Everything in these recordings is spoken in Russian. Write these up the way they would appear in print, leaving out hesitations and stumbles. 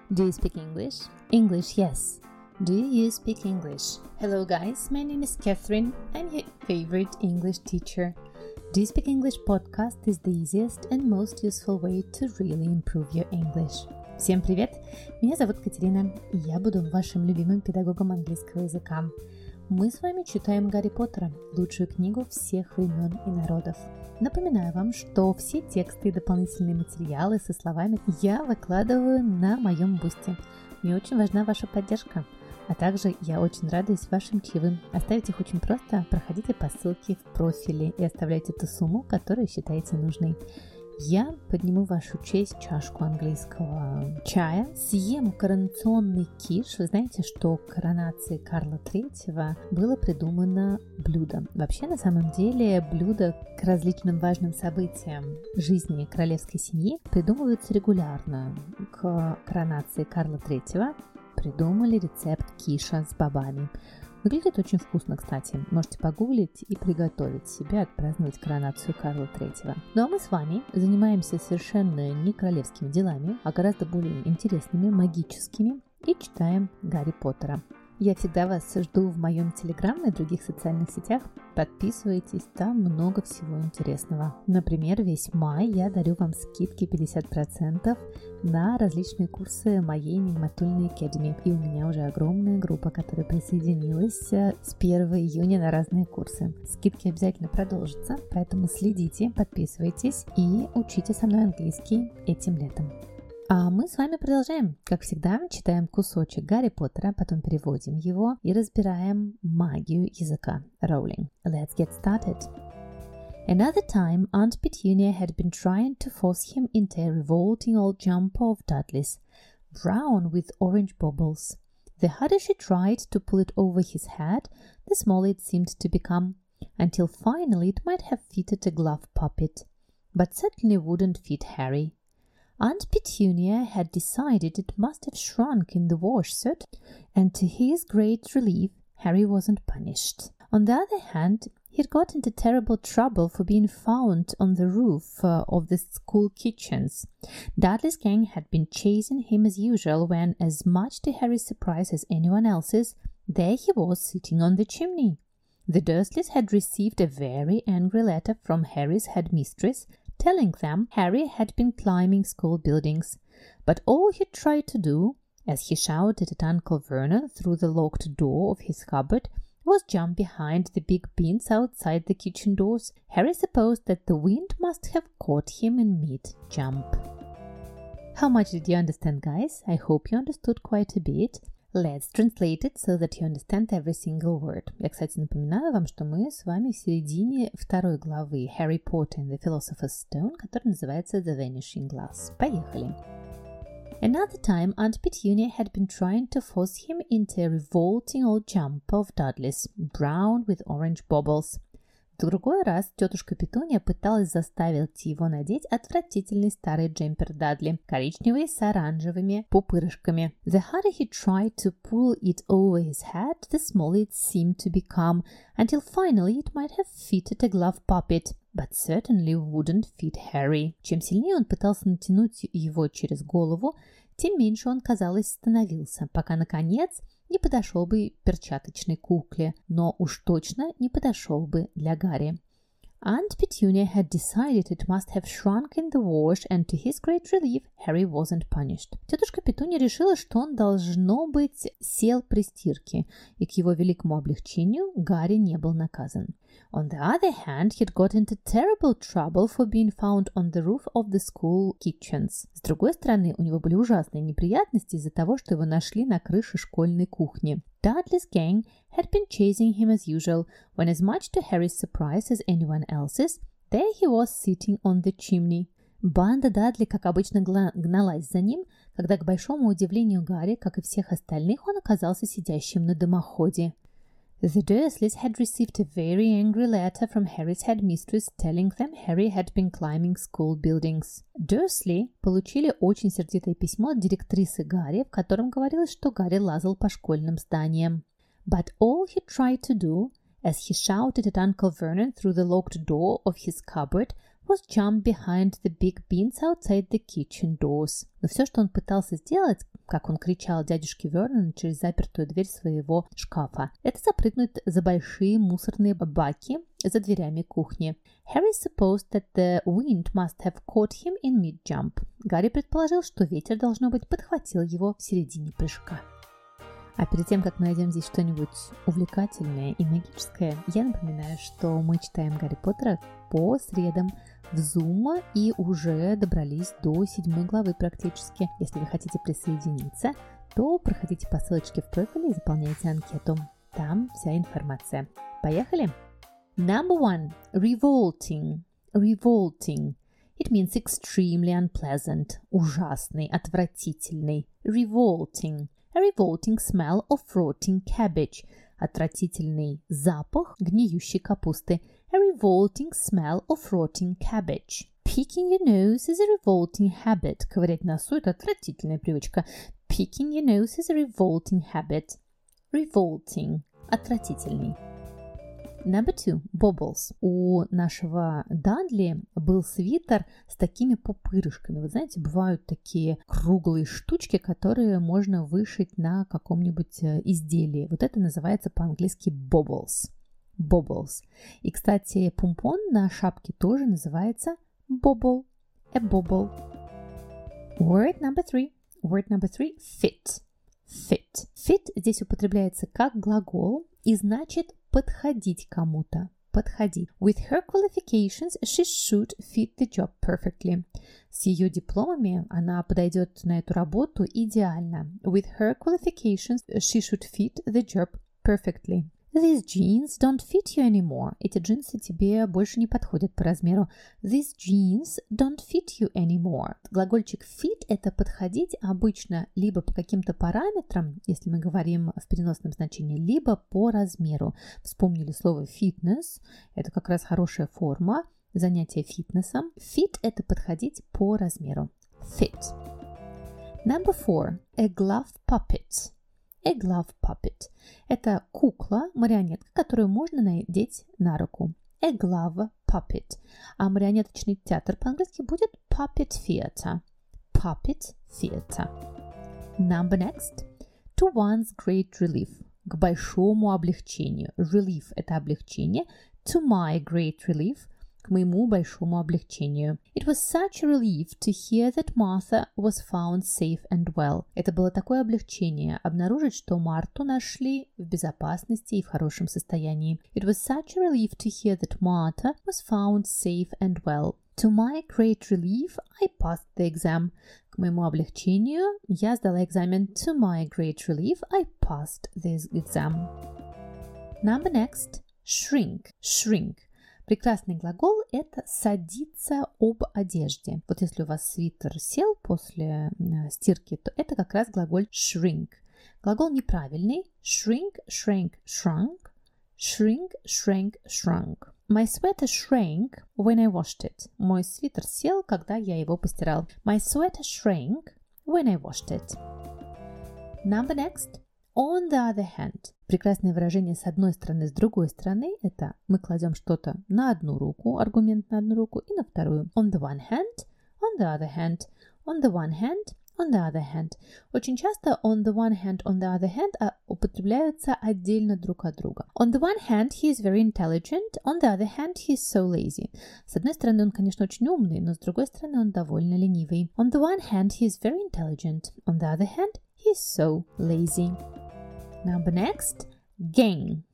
Do you speak English? English, yes. Do you speak English? Hello guys, my name is Catherine. I'm your favorite English teacher. Do you speak English podcast is the easiest and most useful way to really improve your English. Всем привет! Меня зовут Катерина, и я буду вашим любимым педагогом английского языка. Мы с вами читаем Гарри Поттера, лучшую книгу всех времен и народов. Напоминаю вам, что все тексты и дополнительные материалы со словами я выкладываю на моем бусте. Мне очень важна ваша поддержка. А также я очень радуюсь вашим чаевым. Оставить их очень просто. Проходите по ссылке в профиле и оставляйте ту сумму, которую считаете нужной. Я подниму в вашу честь чашку английского чая, съем коронационный киш. Вы знаете, что к коронации Карла III было придумано блюдо. Вообще, на самом деле, блюда к различным важным событиям жизни королевской семьи придумываются регулярно. К коронации Карла III придумали рецепт киша с бобами. Выглядит очень вкусно, кстати. Можете погуглить и приготовить себе отпраздновать коронацию Карла III. Ну а мы с вами занимаемся совершенно не королевскими делами, а гораздо более интересными, магическими, и читаем Гарри Поттера. Я всегда вас жду в моем Телеграм и других социальных сетях. Подписывайтесь, там много всего интересного. Например, весь май я дарю вам скидки 50% на различные курсы моей Нигматульной Academy. И у меня уже огромная группа, которая присоединилась с 1 июня на разные курсы. Скидки обязательно продолжатся, поэтому следите, подписывайтесь и учите со мной английский этим летом. А мы с вами продолжаем. Как всегда, читаем кусочек Гарри Поттера, потом переводим его и разбираем магию языка. Rowling. Let's get started. Another time, Aunt Petunia had been trying to force him into a revolting old jumper of Dudley's, brown with orange baubles. The harder she tried to pull it over his head, the smaller it seemed to become, until finally it might have fitted a glove puppet, but certainly wouldn't fit Harry. Aunt Petunia had decided it must have shrunk in the wash, and to his great relief, Harry wasn't punished. On the other hand, he'd got into terrible trouble for being found on the roof of the school kitchens. Dudley's gang had been chasing him as usual when, as much to Harry's surprise as anyone else's, there he was sitting on the chimney. The Dursleys had received a very angry letter from Harry's headmistress, telling them Harry had been climbing school buildings, but all he tried to do, as he shouted at Uncle Vernon through the locked door of his cupboard, was jump behind the big bins outside the kitchen doors. Harry supposed that the wind must have caught him in mid-jump. How much did you understand, guys? I hope you understood quite a bit. Let's translate it so that you understand every single word. Я, кстати, напоминаю вам, что мы с вами в середине второй главы Harry Potter and the Philosopher's Stone, которая называется The Vanishing Glass. Поехали! Another time, Aunt Petunia had been trying to force him into a revolting old jumper of Dudley's, brown with orange baubles. В другой раз тетушка Петуния пыталась заставить его надеть отвратительный старый джемпер Дадли, коричневый с оранжевыми пупырышками. The harder he tried to pull it over his head, the smaller it seemed to become, until finally it might have fitted a glove puppet, but certainly wouldn't fit Harry. Чем сильнее он пытался натянуть его через голову, тем меньше он, казалось, становился, пока, наконец, не подошел бы перчаточной кукле, но уж точно не подошел бы для Гарри. Aunt Petunia had decided it must have shrunk in the wash, and to his great relief, Harry wasn't punished. Тетушка Петуния решила, что он, должно быть, сел при стирке, и к его великому облегчению Гарри не был наказан. On the other hand, he'd got into terrible trouble for being found on the roof of the school kitchens. С другой стороны, у него были ужасные неприятности из-за того, что его нашли на крыше школьной кухни. Dudley's gang had been chasing him as usual, when as much to Harry's surprise as anyone else's, there he was sitting on the chimney. Банда Дадли, как обычно, гналась за ним, когда, к большому удивлению Гарри, как и всех остальных, он оказался сидящим на дымоходе. The Dursleys had received a very angry letter from Harry's headmistress telling them Harry had been climbing school buildings. Дурсли получили очень сердитое письмо от директрисы Гарри, в котором говорилось, что Гарри лазал по школьным зданиям. But all he tried to do, as he shouted at Uncle Vernon through the locked door of his cupboard, was jump behind the big bins outside the kitchen doors. Но все, что он пытался сделать, как он кричал дядюшке Вернону через запертую дверь своего шкафа. Это запрыгнуть за большие мусорные баки за дверями кухни. Harry supposed that the wind must have caught him in mid-jump. Гарри предположил, что ветер, должно быть, подхватил его в середине прыжка. А перед тем, как мы найдем здесь что-нибудь увлекательное и магическое, я напоминаю, что мы читаем Гарри Поттера по средам в Zoom и уже добрались до 7 главы практически. Если вы хотите присоединиться, то проходите по ссылочке в профиле и заполняйте анкету. Там вся информация. Поехали! Number 1. Revolting. Revolting. It means extremely unpleasant. Ужасный, отвратительный. Revolting. A revolting smell of rotting cabbage. Отвратительный запах гниющей капусты. A revolting smell of rotting cabbage. Picking your nose is a revolting habit. Ковырять носу – это отвратительная привычка. Picking your nose is a revolting habit. Revolting. Отвратительный. Number 2. Bobbles. У нашего Дадли был свитер с такими пупырышками. Вы знаете, бывают такие круглые штучки, которые можно вышить на каком-нибудь изделии. Вот это называется по-английски bobbles. Bobbles. И, кстати, помпон на шапке тоже называется bobble. A bobble. Word number 3. Word number 3. Fit. Fit. Fit здесь употребляется как глагол и значит подходить кому-то. Подходить. With her qualifications, she should fit the job perfectly. С ее дипломами она подойдет на эту работу идеально. With her qualifications, she should fit the job perfectly. These jeans don't fit you anymore. Эти джинсы тебе больше не подходят по размеру. These jeans don't fit you anymore. Глагольчик fit – это подходить обычно либо по каким-то параметрам, если мы говорим в переносном значении, либо по размеру. Вспомнили слово fitness – это как раз хорошая форма занятия фитнесом. Fit – это подходить по размеру. Fit. Number 4. A glove puppet. A glove puppet. Это кукла, марионетка, которую можно надеть на руку. A glove puppet. А марионеточный театр по-английски будет puppet theater. Puppet theater. Number next. To one's great relief. К большому облегчению. Relief – это облегчение. To my great relief – к моему большому облегчению. It was such a relief to hear that Martha was found safe and well. Это было такое облегчение обнаружить, что Марту нашли в безопасности и в хорошем состоянии. It was such a relief to hear that Martha was found safe and well. To my great relief, I passed the exam. К моему облегчению я сдала экзамен. To my great relief, I passed this exam. Number next. Shrink. Shrink. Прекрасный глагол – это садиться об одежде. Вот если у вас свитер сел после стирки, то это как раз глагол shrink. Глагол неправильный. Shrink, shrank, shrunk. Shrink, shrank, shrunk. My sweater shrank when I washed it. Мой свитер сел, когда я его постирал. My sweater shrank when I washed it. Number next. On the other hand. Прекрасное выражение с одной стороны, с другой стороны – это мы кладем что-то на одну руку, аргумент на одну руку, и на вторую. On the one hand, on the other hand, on the one hand, on the other hand. Очень часто on the one hand, on the other hand употребляются отдельно друг от друга. On the one hand, he is very intelligent, on the other hand, he is so lazy. С одной стороны, он, конечно, очень умный, но с другой стороны, он довольно ленивый. On the one hand, he is very intelligent, on the other hand, he is so lazy. Number next. Gang.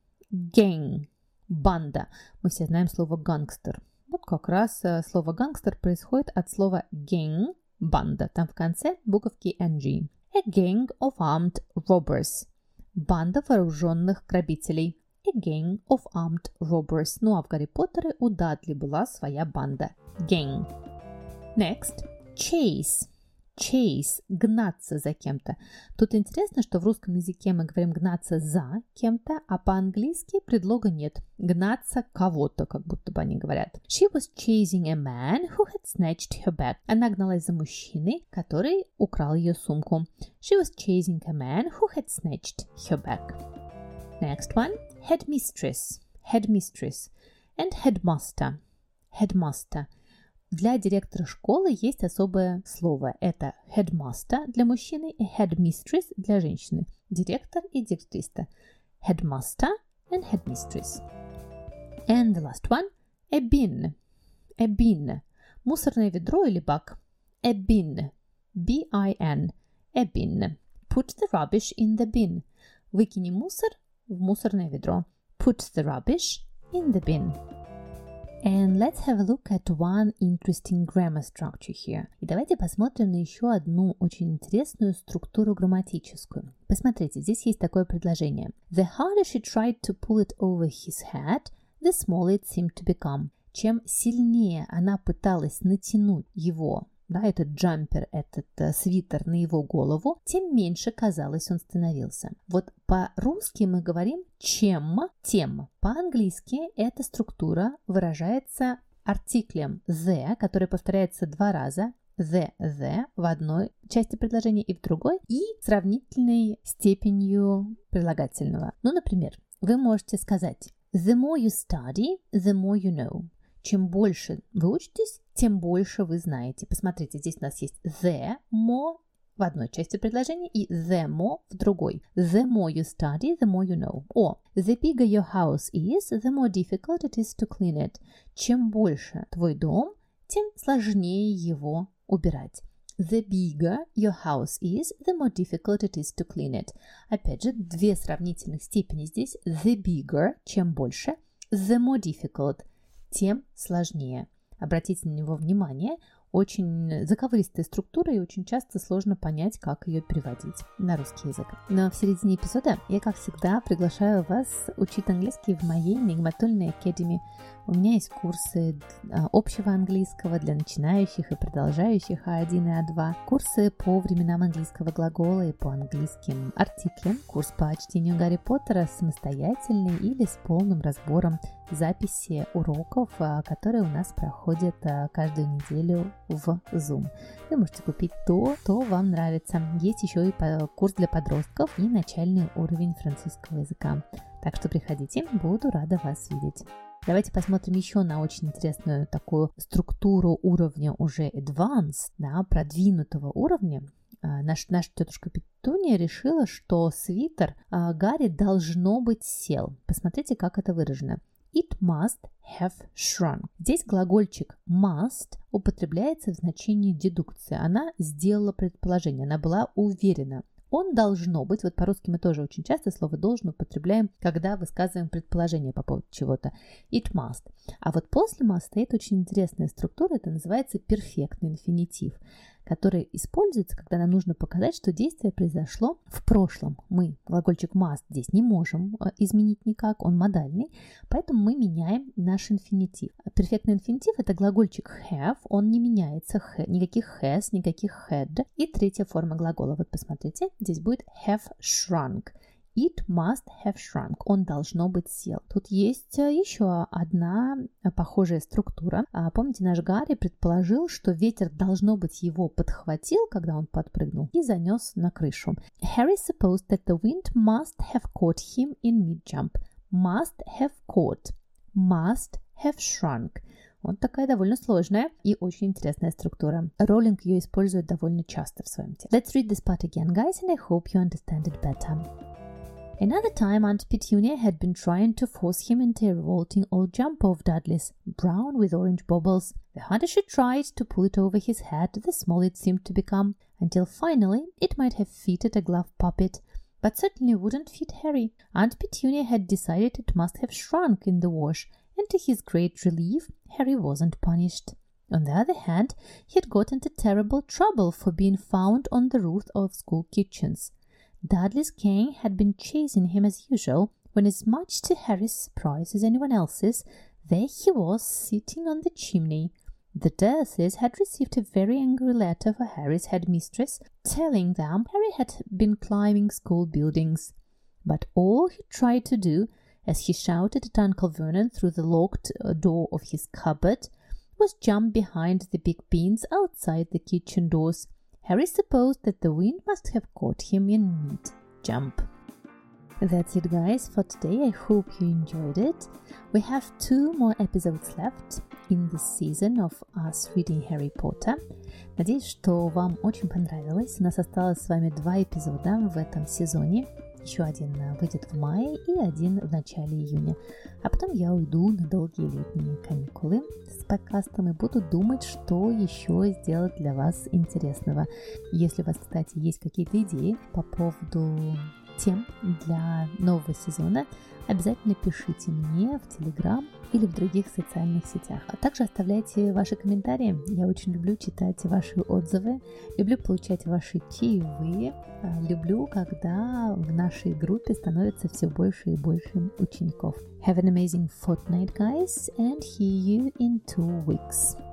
Gang. Банда. Мы все знаем слово гангстер. Вот как раз слово гангстер происходит от слова gang, банда. Там в конце буковки ng. A gang of armed robbers. Банда вооруженных грабителей. A gang of armed robbers. Ну а в Гарри Поттере у Дадли была своя банда. Gang. Next. Chase. Chase – гнаться за кем-то. Тут интересно, что в русском языке мы говорим гнаться за кем-то, а по-английски предлога нет. Гнаться кого-то, как будто бы они говорят. She was chasing a man who had snatched her bag. Она гналась за мужчиной, который украл ее сумку. She was chasing a man who had snatched her bag. Next one. Headmistress. Headmistress. And headmaster. Headmaster. Для директора школы есть особое слово. Это headmaster для мужчины и headmistress для женщины. Директор и директриса. Headmaster and headmistress. And the last one, a bin. A bin. Мусорное ведро или бак. A bin. B-I-N. A bin. Put the rubbish in the bin. Выкини мусор в мусорное ведро. Put the rubbish in the bin. And let's have a look at one interesting grammar structure here. И давайте посмотрим на еще одну очень интересную структуру грамматическую. Посмотрите, здесь есть такое предложение. The harder she tried to pull it over his head, the smaller it seemed to become. Чем сильнее она пыталась натянуть его, этот джампер, этот свитер на его голову, тем меньше, казалось, он становился. Вот по-русски мы говорим чем, тем. По-английски эта структура выражается артиклем the, который повторяется 2 раза, the в одной части предложения и в другой, и сравнительной степенью прилагательного. Например, вы можете сказать The more you study, the more you know. Чем больше вы учитесь, тем больше вы знаете. Посмотрите, здесь у нас есть the more в одной части предложения и the more в другой. The more you study, the more you know. The bigger your house is, the more difficult it is to clean it. Чем больше твой дом, тем сложнее его убирать. The bigger your house is, the more difficult it is to clean it. Опять же, 2 сравнительных степени здесь. The bigger, чем больше, the more difficult, тем сложнее. Обратите на него внимание. Очень заковыристая структура и очень часто сложно понять, как ее переводить на русский язык. Но в середине эпизода я, как всегда, приглашаю вас учить английский в моей Мегаматольной Academy. У меня есть курсы общего английского для начинающих и продолжающих А1 и А2, курсы по временам английского глагола и по английским артиклям, курс по чтению Гарри Поттера самостоятельный или с полным разбором записи уроков, которые у нас проходят каждую неделю в Zoom. Вы можете купить то, что вам нравится. Есть еще и курс для подростков и начальный уровень французского языка. Так что приходите, буду рада вас видеть. Давайте посмотрим еще на очень интересную такую структуру уровня уже advanced, продвинутого уровня. Наша тетушка Петунья решила, что свитер Гарри должно быть сел. Посмотрите, как это выражено. It must have shrunk. Здесь глагольчик must употребляется в значении дедукции. Она сделала предположение, она была уверена. Он должно быть, вот по-русски мы тоже очень часто слово должен употребляем, когда высказываем предположение по поводу чего-то. It must. А вот после must стоит очень интересная структура, это называется перфектный инфинитив, который используется, когда нам нужно показать, что действие произошло в прошлом. Мы глагольчик must здесь не можем изменить никак, он модальный, поэтому мы меняем наш инфинитив. Перфектный инфинитив – это глагольчик have, он не меняется, никаких has, никаких had. И третья форма глагола, вот посмотрите, здесь будет have shrunk. It must have shrunk. Он должно быть сел. Тут есть еще одна похожая структура. Помните, наш Гарри предположил, что ветер должно быть его подхватил, когда он подпрыгнул, и занес на крышу. Harry supposed that the wind must have caught him in mid-jump. Must have caught. Must have shrunk. Вот такая довольно сложная и очень интересная структура. Роулинг ее использует довольно часто в своем тексте. Let's read this part again, guys, and I hope you understand it better. Another time, Aunt Petunia had been trying to force him into a revolting old jumper of Dudley's, brown with orange baubles. The harder she tried to pull it over his head, the smaller it seemed to become, until finally it might have fitted a glove puppet, but certainly wouldn't fit Harry. Aunt Petunia had decided it must have shrunk in the wash, and to his great relief, Harry wasn't punished. On the other hand, he had got into terrible trouble for being found on the roof of school kitchens. Dudley's gang had been chasing him as usual, when as much to Harry's surprise as anyone else's, there he was sitting on the chimney. The Dursleys had received a very angry letter for Harry's headmistress, telling them Harry had been climbing school buildings. But all he tried to do, as he shouted at Uncle Vernon through the locked door of his cupboard, was jump behind the big beans outside the kitchen doors. Harry supposed that the wind must have caught him in mid-jump. That's it, guys, for today. I hope you enjoyed it. We have 2 more episodes left in this season of us reading Harry Potter. Надеюсь, что вам очень понравилось. У нас осталось с вами 2 эпизода в этом сезоне. Еще один выйдет в мае и один в начале июня. А потом я уйду на долгие летние каникулы с подкастом и буду думать, что еще сделать для вас интересного. Если у вас, кстати, есть какие-то идеи по поводу тем для нового сезона, обязательно пишите мне в Telegram или в других социальных сетях. А также оставляйте ваши комментарии. Я очень люблю читать ваши отзывы, люблю получать ваши чаевые, люблю, когда в нашей группе становится все больше и больше учеников. Have an amazing fortnight, guys, and see you in 2 weeks.